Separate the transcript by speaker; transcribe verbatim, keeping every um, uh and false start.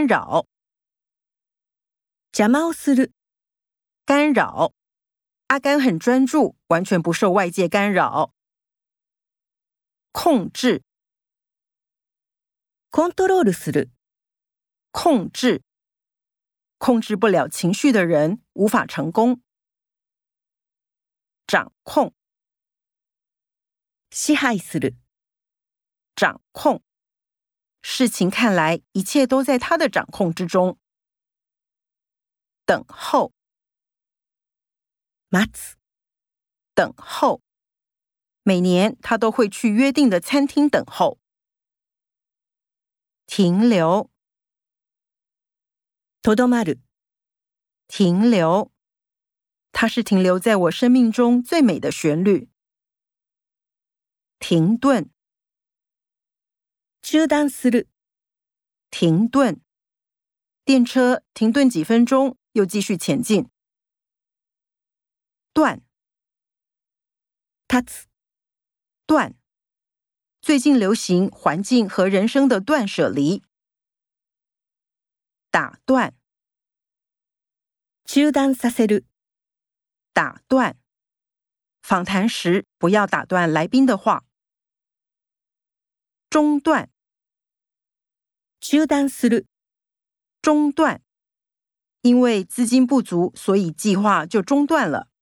Speaker 1: 扰。
Speaker 2: 邪魔をする。
Speaker 1: 干扰。阿甘很专注，完全不受外界干扰。控制。
Speaker 2: コントロールする。
Speaker 1: 控制。控制不了情绪的人无法成功。掌控。
Speaker 2: 支配する。
Speaker 1: 掌控。事情看来一切都在他的掌控之中。等候。
Speaker 2: 待つ。
Speaker 1: 等候。每年他都会去约定的餐厅等候。停留。
Speaker 2: とどまる。
Speaker 1: 停留。它是停留在我生命中最美的旋律。停顿。
Speaker 2: 中断する。
Speaker 1: 停顿。电车停顿几分钟，又继续前进。断。
Speaker 2: 立つ。
Speaker 1: 断。最近流行环境和人生的断舍离。打断。
Speaker 2: 中断させる。
Speaker 1: 打断。访谈时不要打断来宾的话。中断。
Speaker 2: 中断する。
Speaker 1: 中断。因为资金不足，所以计划就中断了。